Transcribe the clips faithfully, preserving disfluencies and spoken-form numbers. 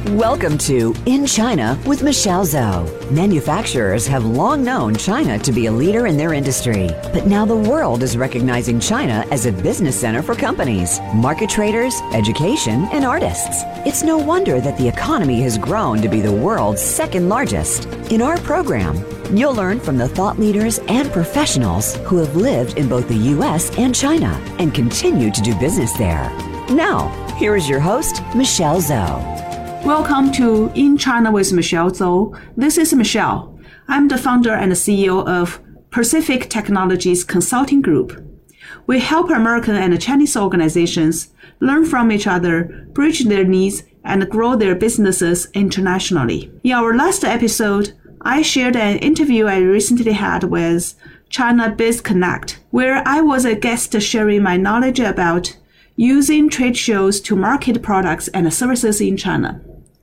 Welcome to In China with Michelle Zhou. Manufacturers have long known China to be a leader in their industry, but now the world is recognizing China as a business center for companies, market traders, education, and artists. It's no wonder that the economy has grown to be the world's second largest. In our program, you'll learn from the thought leaders and professionals who have lived in both the U S and China and continue to do business there. Now, here is your host, Michelle Zhou. Welcome to In China with Michelle Zhou. This is Michelle. I'm the founder and C E O of Pacific Technologies Consulting Group. We help American and Chinese organizations learn from each other, bridge their needs, and grow their businesses internationally. In our last episode, I shared an interview I recently had with China Biz Connect, where I was a guest sharing my knowledge about using trade shows to market products and services in China.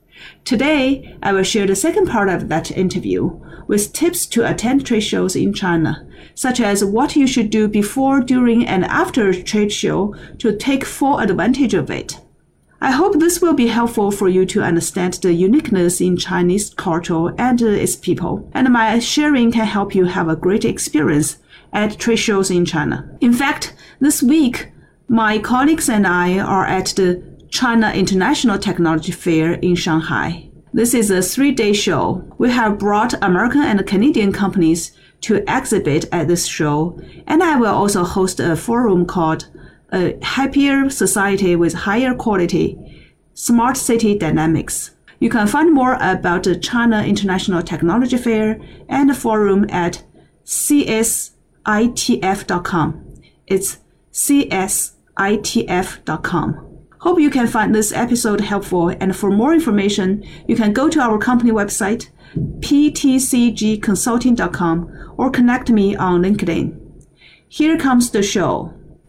Today, I will share the second part of that interview with tips to attend trade shows in China, such as what you should do before, during, and after a trade show to take full advantage of it. I hope this will be helpful for you to understand the uniqueness in Chinese culture and its people, and my sharing can help you have a great experience at trade shows in China. In fact, this week, my colleagues and I are at the China International Technology Fair in Shanghai. This is a three-day show. We have brought American and Canadian companies to exhibit at this show, and I will also host a forum called A Happier Society with Higher Quality, Smart City Dynamics. You can find more about the China International Technology Fair and the forum at C S I T F dot com. It's C S I T F dot com. Hope you can find this episode helpful, and for more information, you can go to our company website, p t c g consulting dot com, or connect me on LinkedIn. Here comes the show.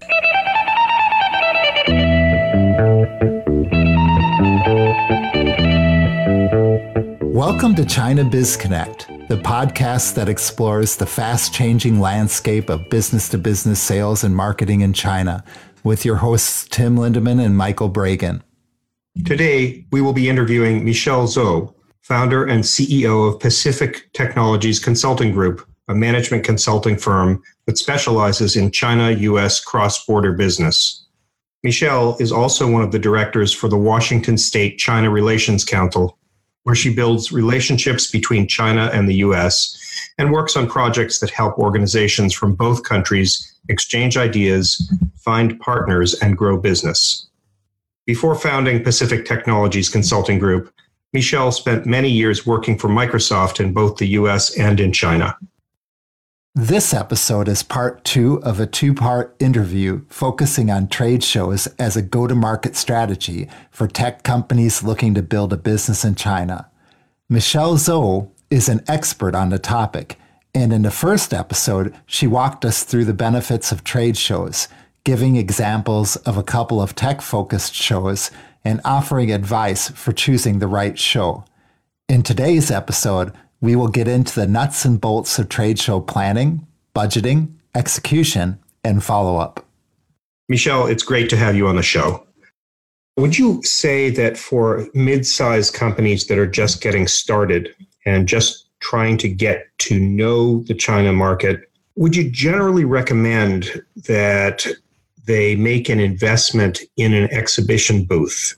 Welcome to China Biz Connect, the podcast that explores the fast-changing landscape of business-to-business sales and marketing in China, with your hosts Tim Lindeman and Michael Bragan. Today, we will be interviewing Michelle Zhou, founder and C E O of Pacific Technologies Consulting Group, a management consulting firm that specializes in China-U S cross-border business. Michelle is also one of the directors for the Washington State China Relations Council, where she builds relationships between China and the U S and works on projects that help organizations from both countries exchange ideas, find partners, and grow business. Before founding Pacific Technologies Consulting Group, Michelle spent many years working for Microsoft in both the U S and in China. This episode is part two of a two-part interview focusing on trade shows as a go-to-market strategy for tech companies looking to build a business in China. Michelle Zhou is an expert on the topic, and in the first episode, she walked us through the benefits of trade shows, giving examples of a couple of tech-focused shows and offering advice for choosing the right show. In today's episode, we will get into the nuts and bolts of trade show planning, budgeting, execution, and follow-up. Michelle, it's great to have you on the show. Would you say that for mid-sized companies that are just getting started and just trying to get to know the China market, would you generally recommend that they make an investment in an exhibition booth?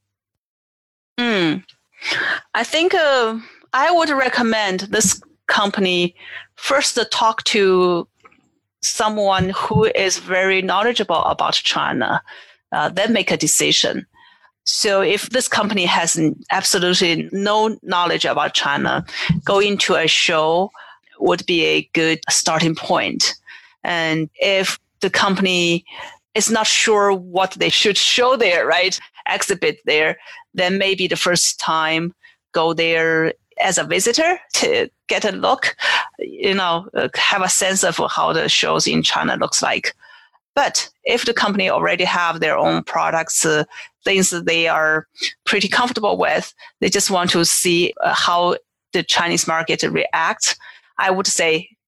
Mm. I think uh, I would recommend this company first to talk to someone who is very knowledgeable about China, uh, then make a decision. So if this company has absolutely no knowledge about China, going to a show would be a good starting point. And if the company is not sure what they should show there, right, exhibit there, then maybe the first time go there as a visitor to get a look, you know, have a sense of how the shows in China looks like. But if the company already have their own products, uh, things that they are pretty comfortable with, they just want to see uh, how the Chinese market reacts, I would say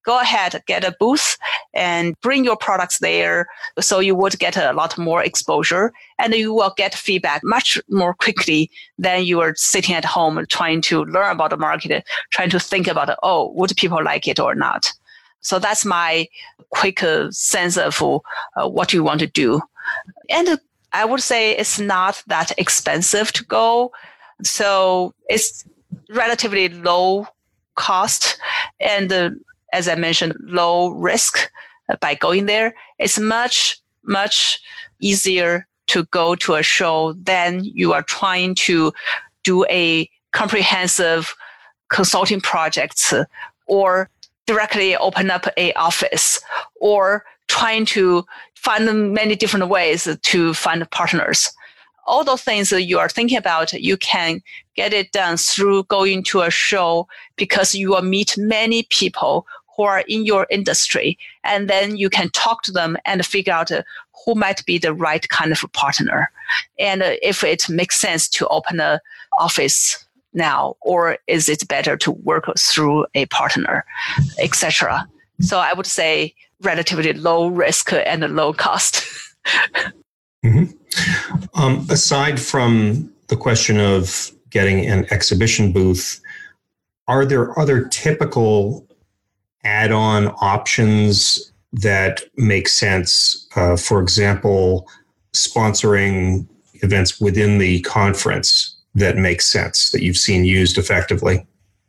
go ahead, get a booth and bring your products there. So you would get a lot more exposure and you will get feedback much more quickly than you are sitting at home trying to learn about the market, trying to think about, oh, would people like it or not? So that's my quick uh, sense of uh, what you want to do. And I would say it's not that expensive to go. So it's relatively low cost and uh, as I mentioned, low risk by going there. It's much, much easier to go to a show than you are trying to do a comprehensive consulting project or directly open up a office or trying to find many different ways to find partners. All those things that you are thinking about, you can get it done through going to a show because you will meet many people who are in your industry. And then you can talk to them and figure out uh, who might be the right kind of partner. And uh, if it makes sense to open an office now, or is it better to work through a partner, et cetera. So I would say relatively low risk and low cost. mm-hmm. um, aside from the question of getting an exhibition booth, are there other typical add-on options that make sense? Uh, for example, sponsoring events within the conference that makes sense, that you've seen used effectively?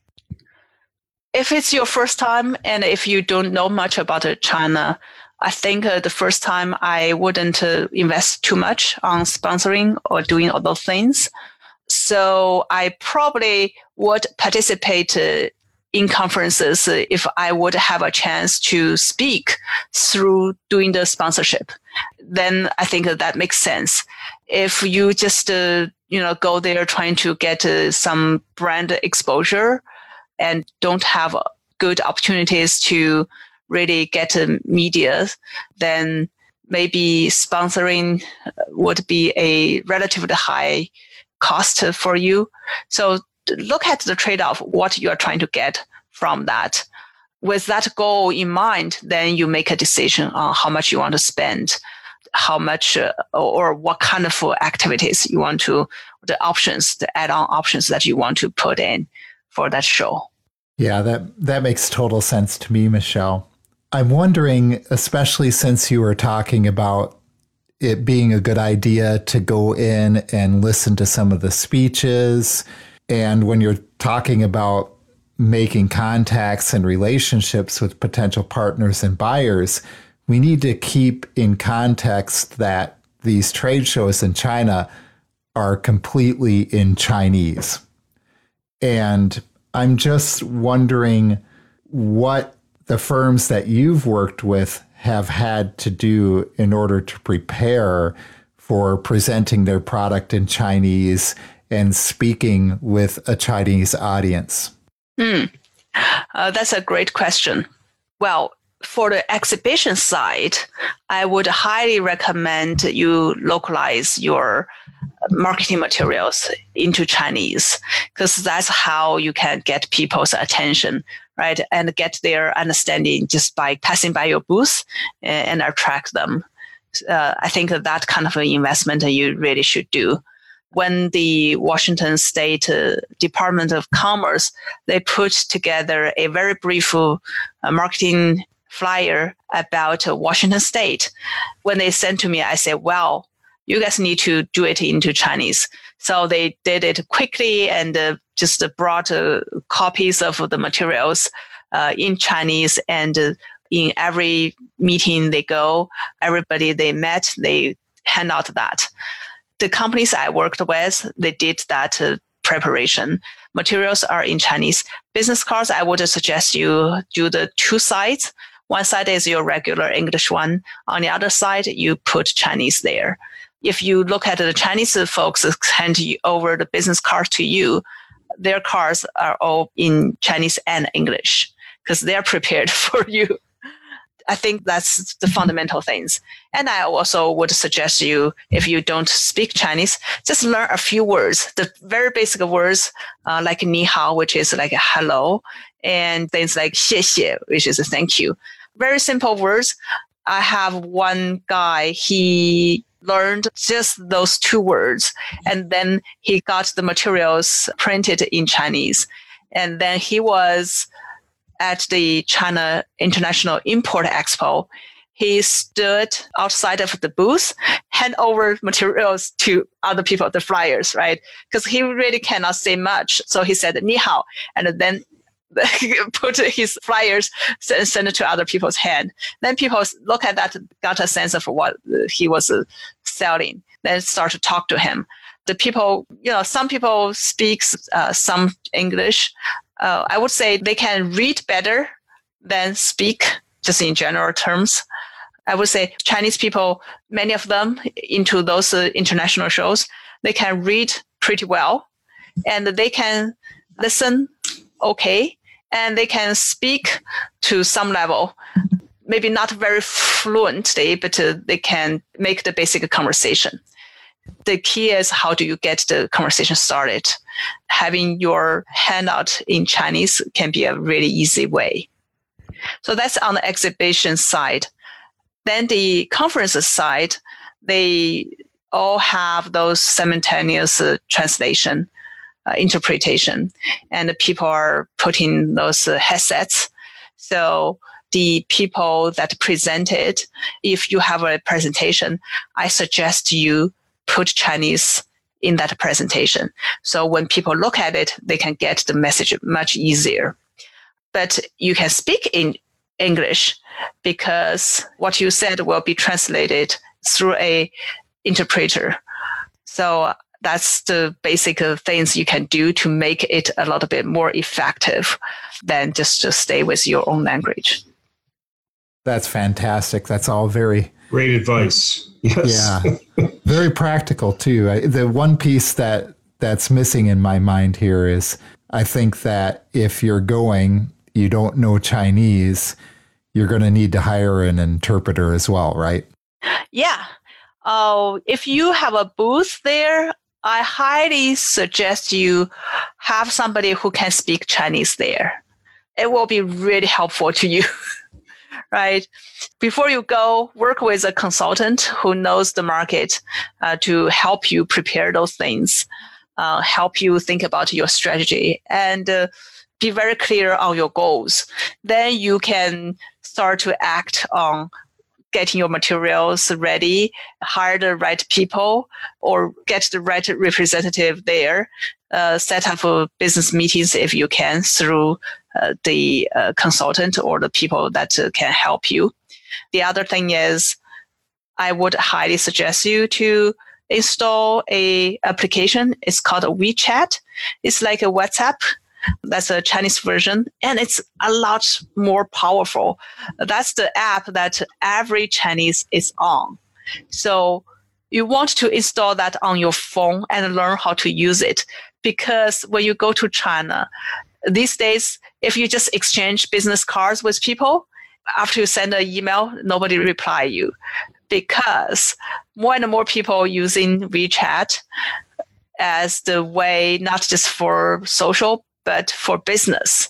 If it's your first time and if you don't know much about China, I think uh, the first time I wouldn't uh, invest too much on sponsoring or doing all those things. So I probably would participate uh, in conferences uh, if I would have a chance to speak through doing the sponsorship. Then I think that, that makes sense. If you just uh, you know go there trying to get uh, some brand exposure and don't have good opportunities to really get uh, media, then maybe sponsoring would be a relatively high cost for you. So look at the trade-off, what you are trying to get from that. With that goal in mind, then you make a decision on how much you want to spend, how much uh, or what kind of activities you want to, the options, the add-on options that you want to put in for that show. Yeah, that, that makes total sense to me, Michelle. I'm wondering, especially since you were talking about it being a good idea to go in and listen to some of the speeches, and when you're talking about making contacts and relationships with potential partners and buyers, we need to keep in context that these trade shows in China are completely in Chinese. And I'm just wondering what the firms that you've worked with have had to do in order to prepare for presenting their product in Chinese and speaking with a Chinese audience. Mm. Uh, that's a great question. Well, for the exhibition side, I would highly recommend you localize your marketing materials into Chinese, because that's how you can get people's attention, right? And get their understanding just by passing by your booth and, and attract them. Uh, I think that, that kind of an investment you really should do. When the Washington State uh, Department of Commerce, they put together a very brief uh, marketing flyer about uh, Washington State. When they sent to me, I said, well, you guys need to do it into Chinese. So they did it quickly and uh, just uh, brought uh, copies of the materials uh, in Chinese. And uh, in every meeting they go, everybody they met, they hand out that. The companies I worked with, they did that uh, preparation. Materials are in Chinese. Business cards, I would suggest you do the two sides. One side is your regular English one. On the other side, you put Chinese there. If you look at the Chinese folks hand over the business card to you, their cards are all in Chinese and English because they're prepared for you. I think that's the fundamental things. And I also would suggest you, if you don't speak Chinese, just learn a few words, the very basic words uh, like ni hao, which is like hello, and things like xie xie, which is a thank you. Very simple words. I have one guy, he learned just those two words, and then he got the materials printed in Chinese. And then he was at the China International Import Expo. He stood outside of the booth, hand over materials to other people, the flyers, right? Because he really cannot say much. So he said, ni hao, and then put his flyers, send it to other people's hand. Then people look at that, got a sense of what he was selling, then start to talk to him. The people, you know, some people speak uh, some English. Uh, I would say they can read better than speak, just in general terms. I would say Chinese people, many of them into those uh, international shows, they can read pretty well, and they can listen okay, and they can speak to some level, maybe not very fluently, but uh, they can make the basic conversation. The key is, how do you get the conversation started? Having your handout in Chinese can be a really easy way. So that's on the exhibition side. Then the conference side, they all have those simultaneous uh, translation, uh, interpretation, and the people are putting those uh, headsets. So the people that presented, if you have a presentation, I suggest you put Chinese in that presentation. So when people look at it, they can get the message much easier. But you can speak in English because what you said will be translated through a interpreter. So that's the basic things you can do to make it a little bit more effective than just to stay with your own language. That's fantastic. That's all very great advice. Yes. Yeah. Very practical too. I, the one piece that that's missing in my mind here is I think that if you're going, you don't know Chinese, you're going to need to hire an interpreter as well, right? Yeah. Uh, if you have a booth there, I highly suggest you have somebody who can speak Chinese there. It will be really helpful to you. Right? Before you go, work with a consultant who knows the market uh, to help you prepare those things, uh, help you think about your strategy, and uh, be very clear on your goals. Then you can start to act on getting your materials ready, hire the right people, or get the right representative there, uh, set up uh, business meetings if you can through uh, the uh, consultant or the people that uh, can help you. The other thing is, I would highly suggest you to install a application. It's called WeChat. It's like a WhatsApp. That's a Chinese version, and it's a lot more powerful. That's the app that every Chinese is on. So you want to install that on your phone and learn how to use it, because when you go to China, these days, if you just exchange business cards with people, after you send an email, nobody reply you, because more and more people using WeChat as the way, not just for social, but for business.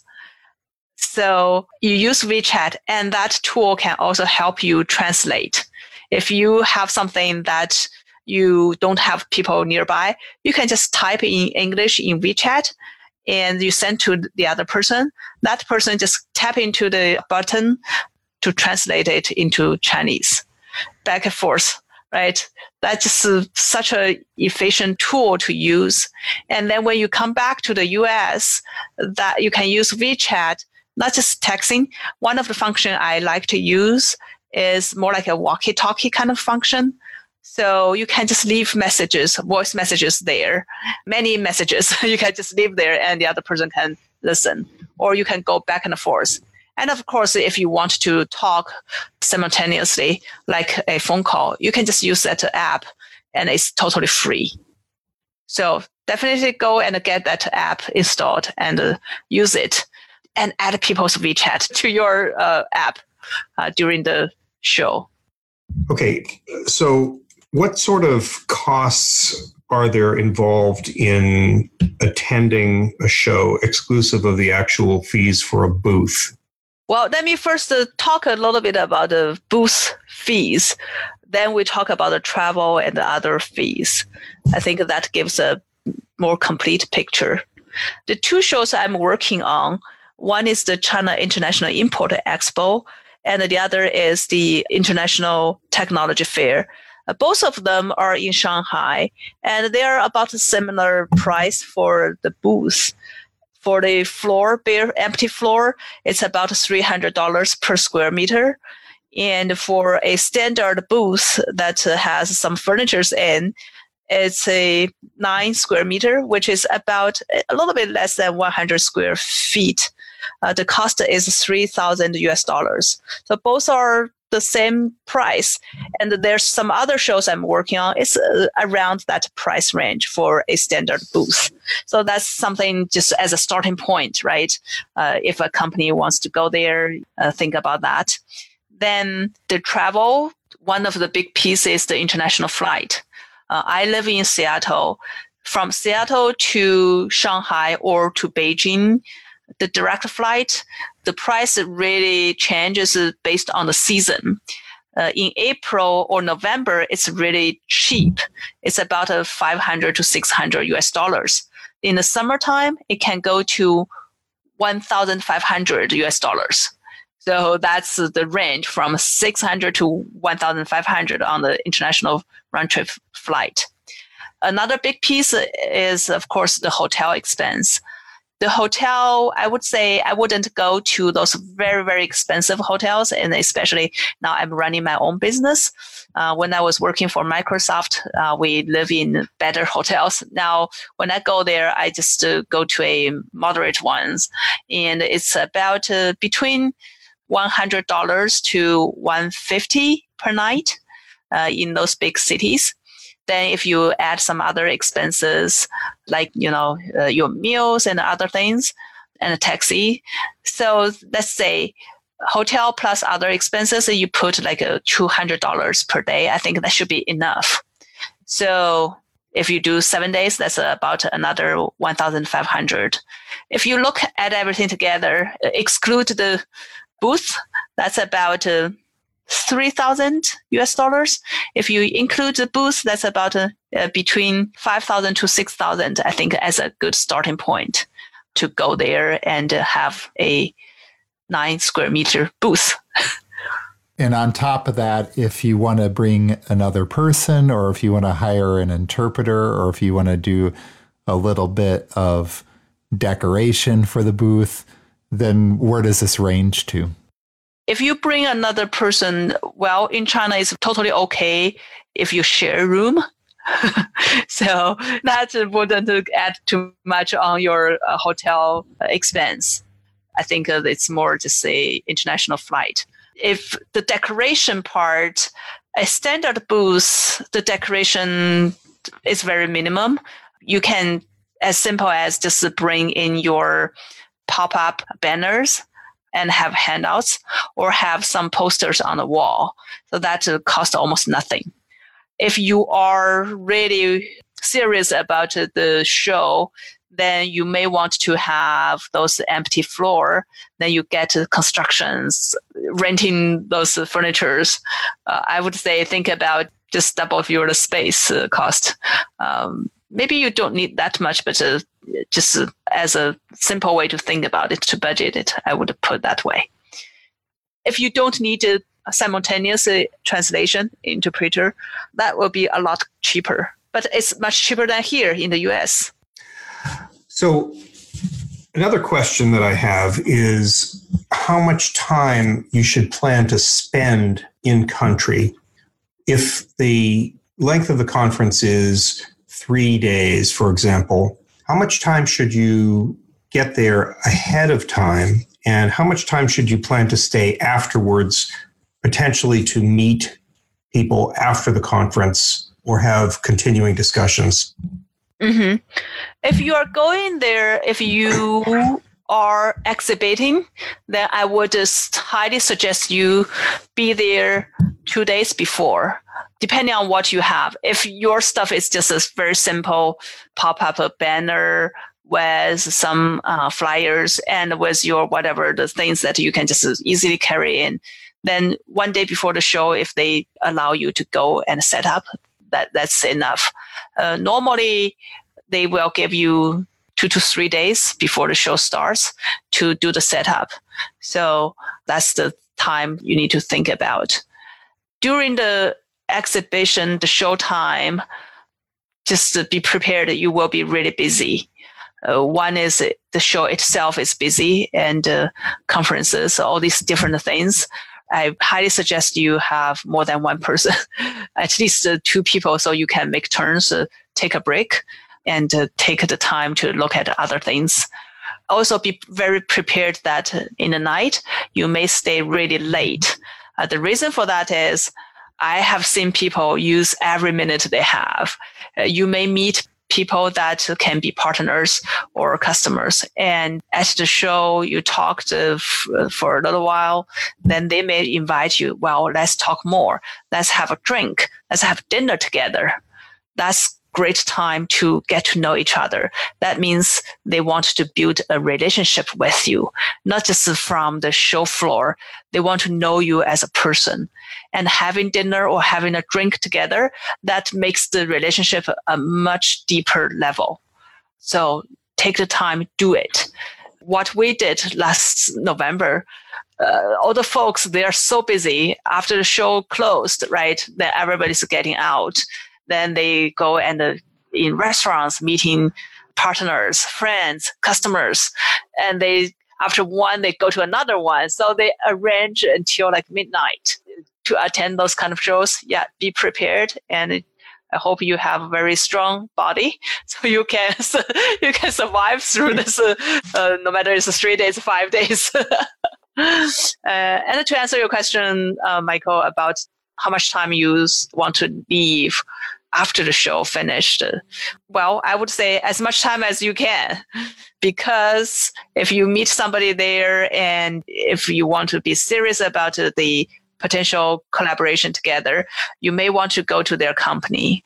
So you use WeChat, and that tool can also help you translate. If you have something that you don't have people nearby, you can just type in English in WeChat and you send to the other person. That person just tap into the button to translate it into Chinese, back and forth. Right? That's just uh, such an efficient tool to use. And then when you come back to the U S, that you can use WeChat, not just texting. One of the functions I like to use is more like a walkie-talkie kind of function. So you can just leave messages, voice messages there, many messages. You can just leave there and the other person can listen, or you can go back and forth. And of course, if you want to talk simultaneously, like a phone call, you can just use that app, and it's totally free. So definitely go and get that app installed and uh, use it, and add people's WeChat to your uh, app. uh, during the show. Okay, so what sort of costs are there involved in attending a show exclusive of the actual fees for a booth? Well, let me first uh, talk a little bit about the booth fees. Then we talk about the travel and the other fees. I think that gives a more complete picture. The two shows I'm working on, one is the China International Import Expo, and the other is the International Technology Fair. Uh, both of them are in Shanghai, and they are about a similar price for the booth. For the floor, bare, empty floor, it's about three hundred dollars per square meter. And for a standard booth that uh, has some furnitures in, it's a nine square meter, which is about a little bit less than one hundred square feet. Uh, the cost is three thousand U S dollars. So both are the same price. And there's some other shows I'm working on. It's uh, around that price range for a standard booth. So that's something just as a starting point, right? Uh, if a company wants to go there, uh, think about that. Then the travel, one of the big pieces is the international flight. Uh, I live in Seattle. From Seattle to Shanghai or to Beijing, the direct flight, the price really changes based on the season. Uh, in April or November, it's really cheap. It's about a five hundred to six hundred U S dollars. In the summertime, it can go to one thousand five hundred U S dollars. So that's the range from six hundred to one thousand five hundred on the international round trip flight. Another big piece is, of course, the hotel expense. The hotel, I would say I wouldn't go to those very, very expensive hotels, and especially now I'm running my own business. Uh, when I was working for Microsoft, uh, we live in better hotels. Now, when I go there, I just uh, go to a moderate ones, and it's about uh, between one hundred dollars to one hundred fifty dollars per night uh, in those big cities. Then if you add some other expenses, like, you know, uh, your meals and other things and a taxi. So let's say hotel plus other expenses, you put like a two hundred dollars per day. I think that should be enough. So if you do seven days, that's about another one thousand five hundred dollars. If you look at everything together, exclude the booth, that's about uh, three thousand U S dollars. If you include the booth, that's about uh, uh, between five thousand to six thousand, I think, as a good starting point to go there and uh, have a nine square meter booth. And on top of that, if you want to bring another person, or if you want to hire an interpreter, or if you want to do a little bit of decoration for the booth, then where does this range to? If you bring another person, well, in China, it's totally okay if you share a room. So that wouldn't add too much on your uh, hotel expense. I think uh, it's more just a international flight. If the decoration part, a standard booth, the decoration is very minimum. You can, as simple as just bring in your pop-up banners and have handouts, or have some posters on the wall. So that uh, costs almost nothing. If you are really serious about the show, then you may want to have those empty floor. Then you get constructions, renting those furnitures. Uh, I would say think about just double your space uh, cost. Um, maybe you don't need that much, but uh, just uh, as a simple way to think about it, to budget it, I would put that way. If you don't need a simultaneous uh, translation interpreter, that will be a lot cheaper. But it's much cheaper than here in the U S. So another question that I have is how much time you should plan to spend in country. If the length of the conference is three days, for example, how much time should you get there ahead of time? And how much time should you plan to stay afterwards, potentially to meet people after the conference or have continuing discussions? Mm-hmm. If you are going there, if you are exhibiting, then I would just highly suggest you be there two days before, depending on what you have. If your stuff is just a very simple pop-up banner with some uh, flyers and with your whatever, the things that you can just easily carry in, then one day before the show, if they allow you to go and set up, that that's enough. Uh, normally, they will give you two to three days before the show starts to do the setup. So that's the time you need to think about. During the exhibition, the show time, just to be prepared, you will be really busy. Uh, one is the show itself is busy, and uh, conferences, all these different things. I highly suggest you have more than one person, at least uh, two people, so you can make turns, uh, take a break, and uh, take the time to look at other things. Also be very prepared that in the night, you may stay really late. Uh, the reason for that is I have seen people use every minute they have. Uh, you may meet people that can be partners or customers. And at the show, you talked uh, f- for a little while, then they may invite you, well, let's talk more. Let's have a drink. Let's have dinner together. That's great time to get to know each other. That means they want to build a relationship with you, not just from the show floor. They want to know you as a person. And having dinner or having a drink together, that makes the relationship a much deeper level. So take the time, do it. What we did last November, uh, all the folks, they are so busy after the show closed, right? Then everybody's getting out. Then they go and uh, in restaurants, meeting partners, friends, customers. And they, after one, they go to another one. So they arrange until like midnight to attend those kind of shows. Yeah, be prepared. And I hope you have a very strong body so you can you can survive through this, uh, uh, no matter it's three days, five days. uh, and to answer your question, uh, Michael, about how much time you want to leave after the show finished. Well, I would say as much time as you can, because if you meet somebody there and if you want to be serious about the potential collaboration together, you may want to go to their company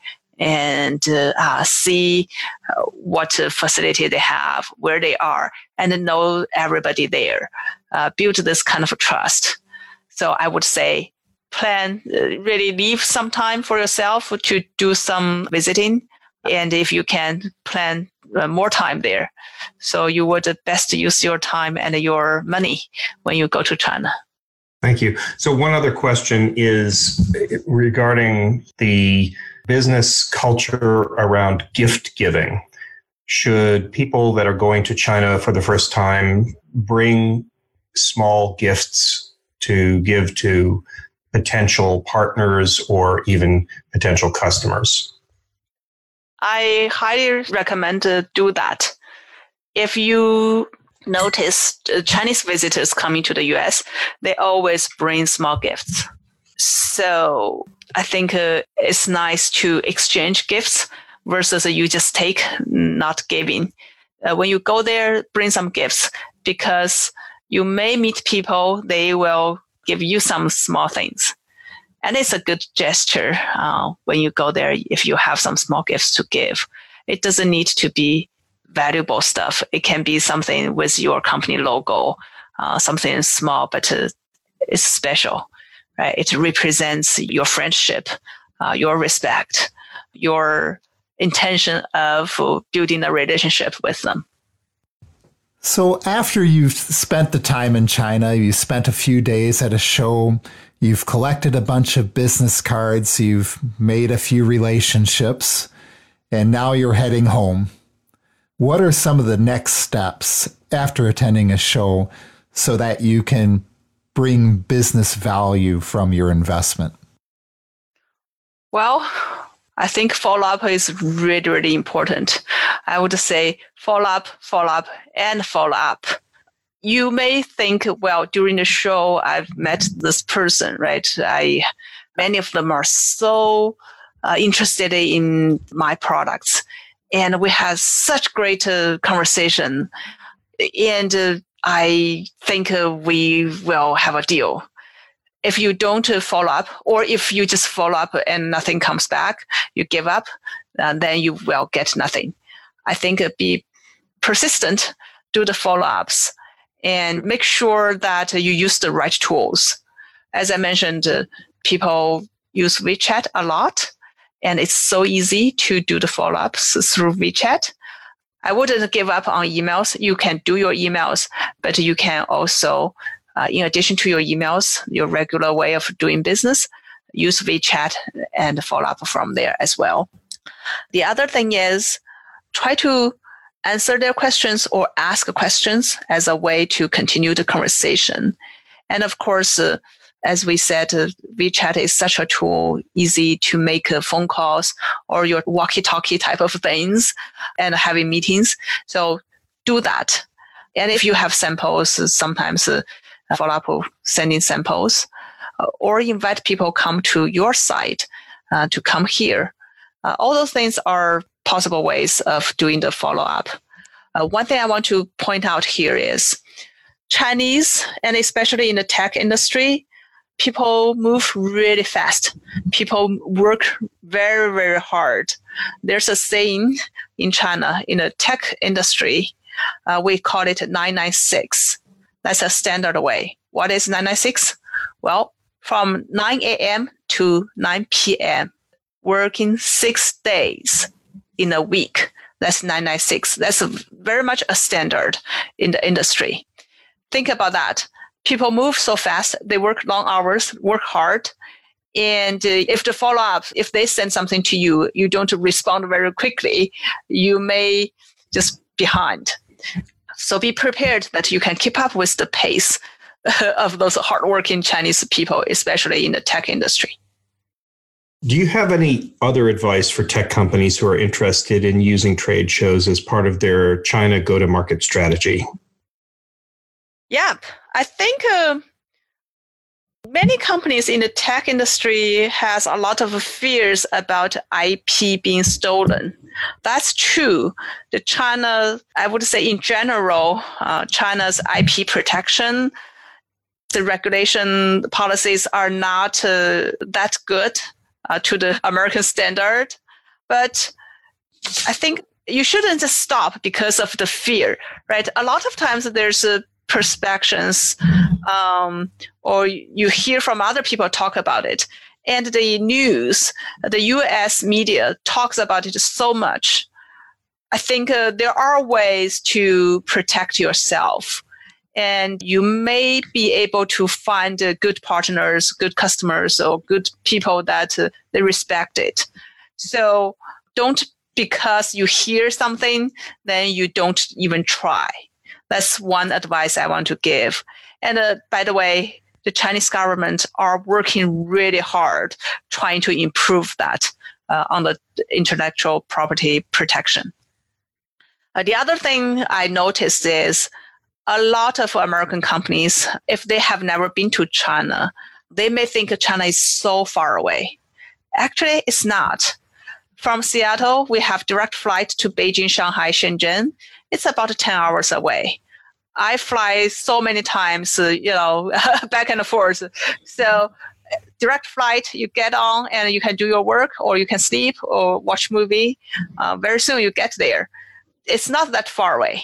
and uh, uh, see uh, what uh, facility they have, where they are, and know everybody there. Uh, build this kind of a trust. So I would say, plan, uh, really leave some time for yourself to do some visiting. And if you can, plan uh, more time there. So you would best use your time and your money when you go to China. Thank you. So one other question is regarding the business culture around gift giving. Should people that are going to China for the first time bring small gifts to give to potential partners or even potential customers? I highly recommend to do that. If you notice uh, Chinese visitors coming to the U S, they always bring small gifts. So I think uh, it's nice to exchange gifts versus uh, you just take, not giving. Uh, when you go there, bring some gifts, because you may meet people, they will give you some small things. And it's a good gesture uh, when you go there if you have some small gifts to give. It doesn't need to be valuable stuff. It can be something with your company logo, uh, something small, but uh, it's special, right? It represents your friendship, uh, your respect, your intention of building a relationship with them. So after you've spent the time in China, you spent a few days at a show, you've collected a bunch of business cards, you've made a few relationships, and now you're heading home. What are some of the next steps after attending a show so that you can bring business value from your investment? Well, I think follow-up is really, really important. I would say follow-up, follow-up, and follow-up. You may think, well, during the show, I've met this person, right? I, many of them are so uh, interested in my products. And we had such great uh, conversation. and uh, I think uh, we will have a deal. If you don't uh, follow up, or if you just follow up and nothing comes back, you give up, uh, then you will get nothing. I think uh, be persistent, do the follow-ups, and make sure that uh, you use the right tools. As I mentioned, uh, people use WeChat a lot, and it's so easy to do the follow-ups through WeChat. I wouldn't give up on emails. You can do your emails, but you can also, uh, in addition to your emails, your regular way of doing business, use WeChat and follow up from there as well. The other thing is try to answer their questions or ask questions as a way to continue the conversation. And of course, uh, as we said, uh, WeChat is such a tool, easy to make uh, phone calls or your walkie-talkie type of things and having meetings. So do that. And if you have samples, uh, sometimes uh, follow up with sending samples uh, or invite people come to your site uh, to come here. Uh, all those things are possible ways of doing the follow-up. Uh, one thing I want to point out here is Chinese, and especially in the tech industry, people move really fast. People work very, very hard. There's a saying in China, in the tech industry, uh, we call it nine nine six. That's a standard way. What is nine nine six? Well, from nine a.m. to nine p.m., working six days in a week. That's nine nine six. That's a, very much a standard in the industry. Think about that. People move so fast. They work long hours, work hard. And uh, if the follow-up, if they send something to you, you don't respond very quickly, you may just behind. So be prepared that you can keep up with the pace of those hardworking Chinese people, especially in the tech industry. Do you have any other advice for tech companies who are interested in using trade shows as part of their China go-to-market strategy? Yeah, I think uh, many companies in the tech industry has a lot of fears about I P being stolen. That's true. The China, I would say in general, uh, China's I P protection, the regulation policies are not uh, that good uh, to the American standard. But I think you shouldn't just stop because of the fear, right? A lot of times there's a perspectives, um, or you hear from other people talk about it. And the news, the U S media talks about it so much. I think uh, there are ways to protect yourself. And you may be able to find uh, good partners, good customers, or good people that uh, they respect it. So don't, because you hear something, then you don't even try. That's one advice I want to give. And uh, by the way, the Chinese government are working really hard trying to improve that uh, on the intellectual property protection. Uh, the other thing I noticed is a lot of American companies, if they have never been to China, they may think China is so far away. Actually, it's not. From Seattle, we have direct flight to Beijing, Shanghai, Shenzhen. It's about ten hours away. I fly so many times, uh, you know, back and forth. So direct flight, you get on and you can do your work, or you can sleep or watch movie. Uh, very soon you get there. It's not that far away.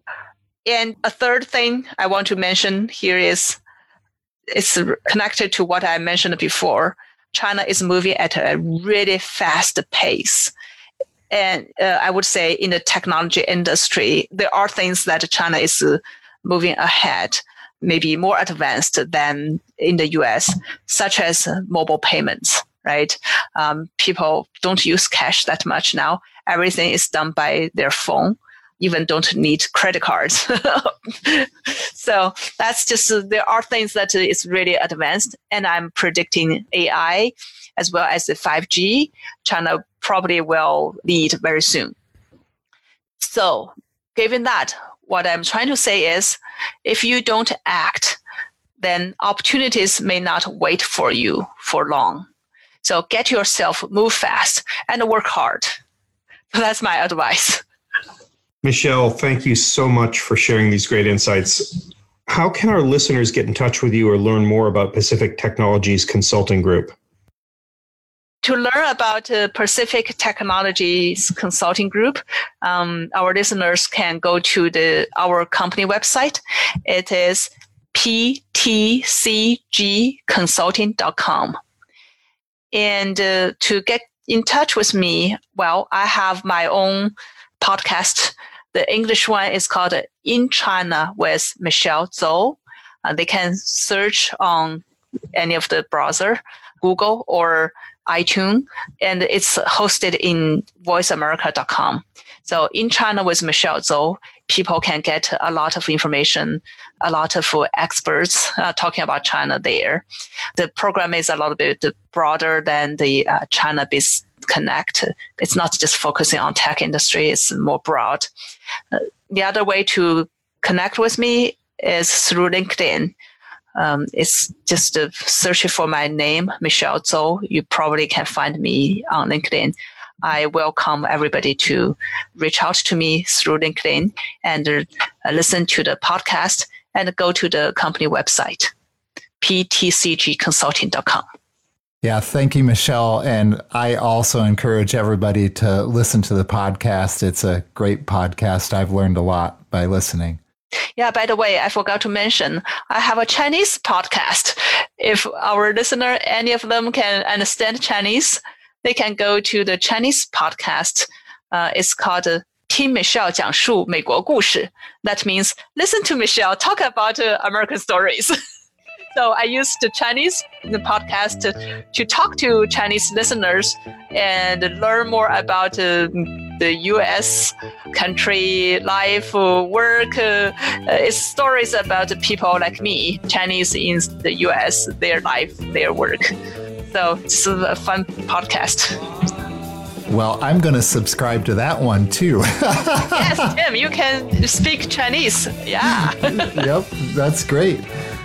And a third thing I want to mention here is it's connected to what I mentioned before. China is moving at a really fast pace. And uh, I would say in the technology industry, there are things that China is uh, moving ahead, maybe more advanced than in the U S, such as uh, mobile payments, right? Um, people don't use cash that much now. Everything is done by their phone, even don't need credit cards. So that's just, uh, there are things that uh, is really advanced. And I'm predicting A I as well as the five G. China probably will lead very soon. So given that, what I'm trying to say is, if you don't act, then opportunities may not wait for you for long. So get yourself, move fast, and work hard. That's my advice. Michelle, thank you so much for sharing these great insights. How can our listeners get in touch with you or learn more about Pacific Technologies Consulting Group? To learn about uh, Pacific Technologies Consulting Group, um, our listeners can go to the our company website. It is p t c g consulting dot com. And uh, to get in touch with me, well, I have my own podcast. The English one is called In China with Michelle Zhou. Uh, they can search on any of the browser, Google or iTunes, and it's hosted in voice america dot com. So In China with Michelle Zhou, people can get a lot of information, a lot of experts uh, talking about China there. The program is a little bit broader than the uh, China Biz Connect. It's not just focusing on tech industry, it's more broad. Uh, the other way to connect with me is through LinkedIn. Um, it's just uh, searching for my name, Michelle Zhou. You probably can find me on LinkedIn. I welcome everybody to reach out to me through LinkedIn and uh, listen to the podcast and go to the company website, p t c g consulting dot com. Yeah, thank you, Michelle. And I also encourage everybody to listen to the podcast. It's a great podcast. I've learned a lot by listening. Yeah, by the way, I forgot to mention, I have a Chinese podcast. If our listener, any of them can understand Chinese, they can go to the Chinese podcast. Uh, it's called uh, 听 Michelle 讲述美国故事. That means listen to Michelle talk about uh, American stories. So I use the Chinese the podcast to, to talk to Chinese listeners and learn more about uh, the U S country life, uh, work. Uh, it's stories about people like me, Chinese in the U S, their life, their work. So it's a fun podcast. Well, I'm going to subscribe to that one too. Yes, Tim, you can speak Chinese. Yeah. Yep, that's great.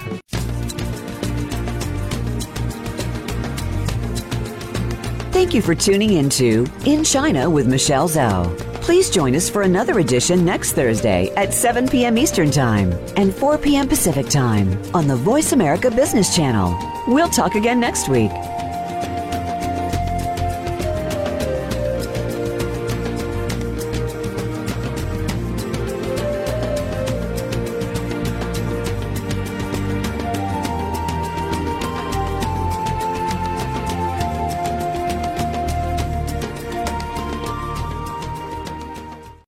Thank you for tuning into In China with Michelle Zhou. Please join us for another edition next Thursday at seven p.m. Eastern Time and four p.m. Pacific Time on the Voice America Business Channel. We'll talk again next week.